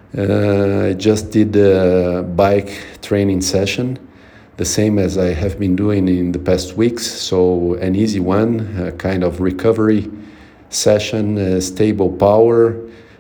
I just did a bike training session, the same as I have been doing in the past weeks. So an easy one, a kind of recovery session, stable power.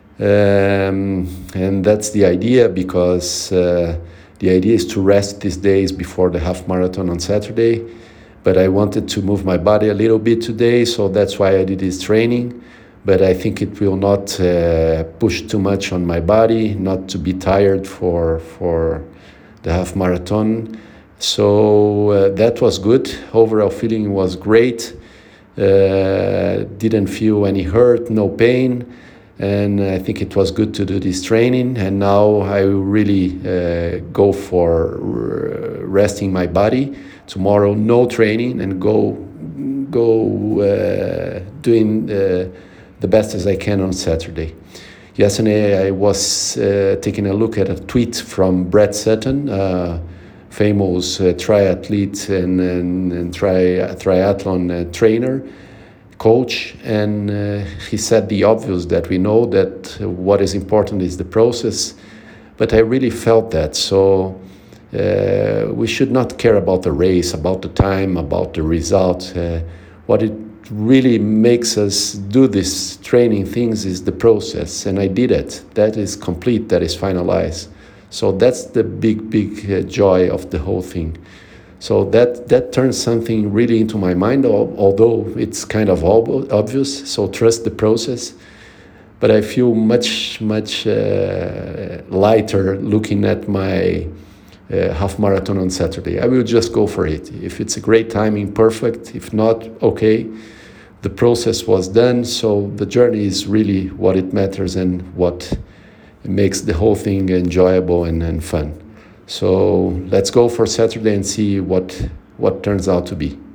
And that's the idea, because the idea is to rest these days before the half marathon on Saturday. But I wanted to move my body a little bit today, so that's why I did this training. But I think it will not push too much on my body, not to be tired for the half marathon. So that was good. Overall feeling was great. Didn't feel any hurt, no pain. And I think it was good to do this training. And now I will really go for resting my body. Tomorrow, no training, and go doing the best as I can on Saturday. Yesterday, I was taking a look at a tweet from Brett Sutton, famous triathlete and triathlon trainer, coach, and he said the obvious, that we know that what is important is the process, but I really felt that. So we should not care about the race, about the time, about the result. What it really makes us do this training things is the process, and I did it. That is complete, that is finalized. So that's the big joy of the whole thing. So that turns something really into my mind, although it's kind of obvious. So trust the process. But I feel much lighter looking at my half marathon on Saturday. I will just go for it. If it's a great timing, perfect. If not, okay. The process was done, so the journey is really what it matters and what makes the whole thing enjoyable and fun. So let's go for Saturday and see what turns out to be.